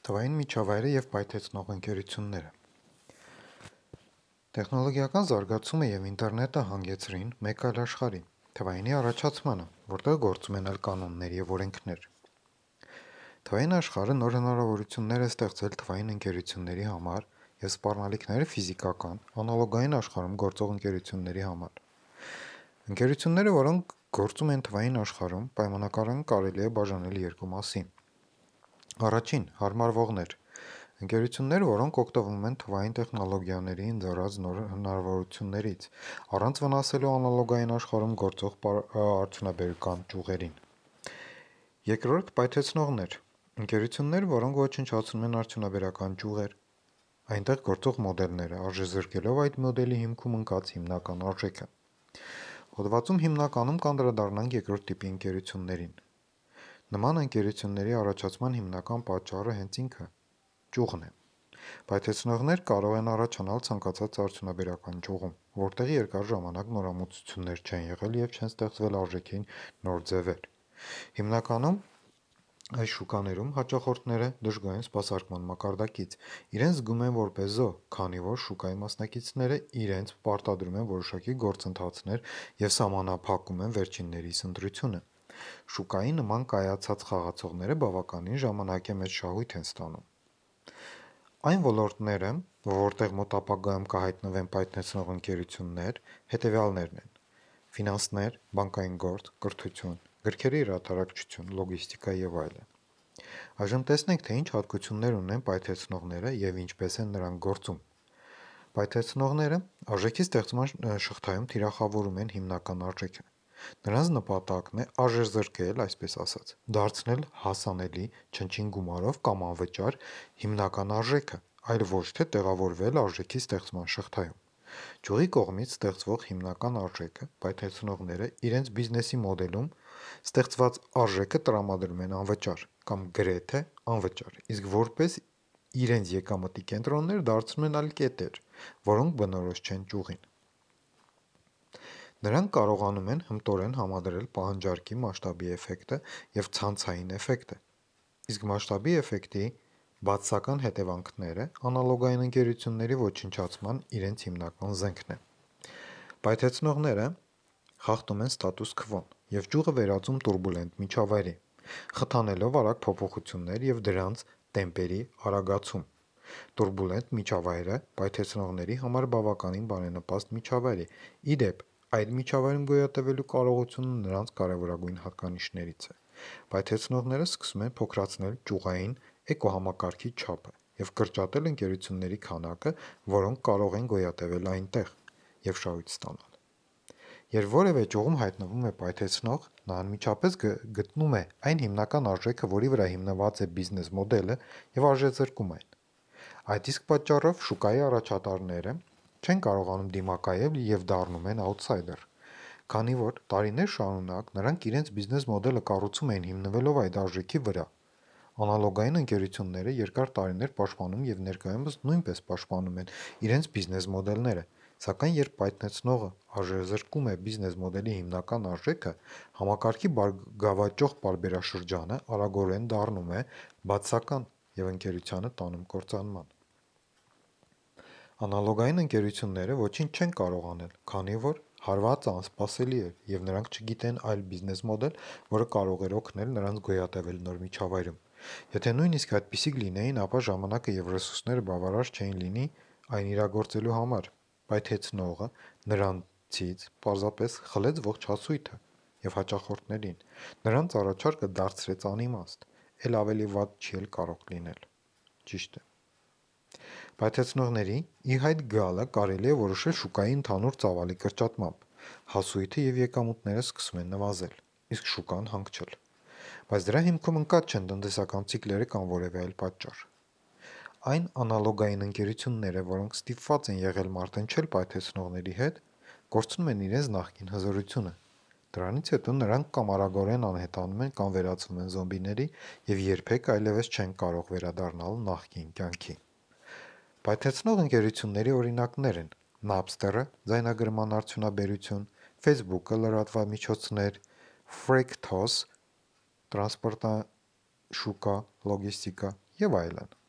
Թվային միջավայրը և պայթեցնող ընկերությունները։ Տեխնոլոգիական զարգացումը և ինտերնետը հանգեցրին մեկ այլ աշխարհի՝ թվայինի առաջացմանը, որտեղ գործում են այլ կանոններ և օրենքներ։ Թվային աշխարհը նոր հնարավորություններ է ստեղծել թվային ընկերությունների համար և սպառնալիքները ֆիզիկական, անալոգային աշխարհում գործող ընկերությունների համար։ Ընկերությունները, որոնք գործում են թվային աշխարհում, պայմանականորեն կարելի է բաժանել երկու մասի։ Առաջին՝ հարմարվողներ։ Ընկերություններ, որոնք օգտվում են թվային տեխնոլոգիաների ընձեռած նոր հնարավորություններից, առանց վնասելու անալոգային աշխարհում գործող արդյունաբերական ճյուղերին։ Երկրորդ՝ պայթեցնողներ։ Ընկերություններ, որոնք ոչնչացնում են արդյունաբերական ճյուղեր, այնտեղ գործող մոդելները, արժեզրկելով այդ մոդելի հիմքում ընկած հիմնական արժեքը։ Հոդվածում հիմնականում կանդրադառնանք երկրորդ տիպի ընկերություններին։ Նման ընկերությունների առաջացման հիմնական պատճառը հենց ինքը ճյուղն է։ Պայթեցնողներ կարող են առաջանալ ցանկացած արդյունաբերական ճյուղում, որտեղ երկար ժամանակ նորամուծություններ չեն եղել և չեն ստեղծվել արժեքի նոր ձևեր։ Հիմնականում այս շուկաներում հաճախորդները դժգոհ են սպասարկման մակարդակից, իրենց զգում են որպես զոհ, քանի որ շուկայի մասնակիցները իրենց պարտադրում են որոշակի գործընթացներ և սահմանափակում են վերջիններիս ընտրությունը։ Շուկայի նման կայացած խաղացողները բավականին ժամանակի մեջ շահույթ են ստանում։ Այն ոլորտները, որտեղ մոտ ապագայում կհայտնվեն պայթեցնող ընկերություններ, հետևյալներն են՝ ֆինանսներ, բանկային գործ, կրթություն, գրքերի հրատարակչություն, լոգիստիկա եւ այլն։ Այժմ տեսնենք, թե ինչ հատկություններ ունեն պայթեցնողները եւ ինչպես են նրանք գործում։ Պայթեցնողները արժեքի ստեղծման շղթայում թիրախավորում են հիմնական արժեքը։ Նրանց նպատակն է արժեզրկել, այսպես ասած, դարձնել հասանելի չնչին գումարով կամ անվճար հիմնական արժեքը, այլ ոչ թե տեղավորվել արժեքի ստեղծման շղթայում։ Ճյուղի կողմից ստեղծվող հիմնական արժեքը պայթեցնողները իրենց բիզնեսի մոդելում ստեղծված արժեքը տրամադրում են անվճար կամ գրեթե անվճար, իսկ որպես իրենց եկամտի կենտրոններ դարձնում են այլ կետեր, որոնք բնորոշ չեն ճյուղին։ Նրանք կարողանում են հմտորեն համադրել պահանջարկի մասշտաբի էֆեկտը և ցանցային էֆեկտը, իսկ մասշտաբի էֆեկտի բացասական հետևանքները անալոգային ընկերությունների ոչնչացման իրենց հիմնական զենքն է։ Պայթեցնողները խախտում են ստատուս քվոն և ճյուղը վերածում տուրբուլենտ միջավայրի, խթանելով արագ փոփոխություններ և դրանց տեմպերի արագացում։ Տուրբուլենտ միջավայրը պայթեցնողների համար բավականին բարենպաստ միջավայր է։ Ի դեպ, այդ միջավայրում գոյատևելու կարողությունը նրանց կարևորագույն հատկանիշներից է։ Պայթեցնողները սկսում են փոքրացնել ճյուղային էկոհամակարգի չափը և կրճատել ընկերությունների քանակը, որոնք կարող են գոյատևել այնտեղ և շահույթ ստանալ։ Երբ որևէ ճյուղում հայտնվում է պայթեցնող, նա անմիջապես գտնում է այն հիմնական արժեքը, որի վրա հիմնված է բիզնես մոդելը, և արժեզրկում այն։ Այդ իսկ պատճառով շուկայի առաջատարները չեն կարողանում դիմակայել և դառնում են աութսայդեր, քանի որ տարիներ շարունակ նրանք իրենց բիզնես մոդելը կառուցում էին հիմնվելով այդ արժեքի վրա։ Անալոգային ընկերությունները երկար տարիներ պաշտպանում և ներկայումս նույնպես պաշտպանում են իրենց բիզնես մոդելները, սակայն երբ պայթեցնողը արժեզրկում է բիզնես մոդելի հիմնական արժեքը, համակարգի բարգավաճող պարբերաշրջանը արագորեն դառնում է բացասական և ընկերությանը տանում կործանման։ Անալոգային ընկերությունները ոչինչ չեն կարող անել, քանի որ հարվածը անսպասելի էր, և նրանք չգիտեն այլ բիզնես մոդել, որը կարող էր օգնել նրանց գոյատևել նոր միջավայրում։ Եթե նույնիսկ այդպիսիք լինեին, ապա ժամանակը և ռեսուրսները բավարար չէին լինի այն իրագործելու համար։ Պայթեցնողը նրանցից պարզապես խլեց ողջ հասույթը և հաճախորդներին։ Նրանց առաջարկը դարձրեց անիմաստ, էլ ավելի վատ չի էլ կարող լինել։ Ճիշտ է։ Պայթեցնողների ի հայտ գալը կարելի է որոշել շուկայի ընդհանուր ծավալի կրճատմամբ։ Հասույթը և եկամուտները սկսում են նվազել, իսկ շուկան հանգչել։ Բայց դրա հիմքում ընկած չեն տնտեսական ցիկլերը կամ որևէ այլ պատճառ։ Այն անալոգային ընկերությունները, որոնք ստիպված են եղել մարտնչել պայթեցնողների հետ, կորցնում են իրենց նախկին հզորությունը։ Դրանից հետո նրանք կամ արագորեն անհետանում են կամ վերածվում են զոմբիների և երբեք այլևս չեն կարող վերադառնալ նախկին կյանքի։ Պայթեցնող ընկերությունների օրինակներ են Napster-ը, ձայնագրման արդյունաբերություն, Facebook-ը, լրատվամիջոցներ, Fractal, տրանսպորտաշուկա, լոգիստիկա եւ այլն։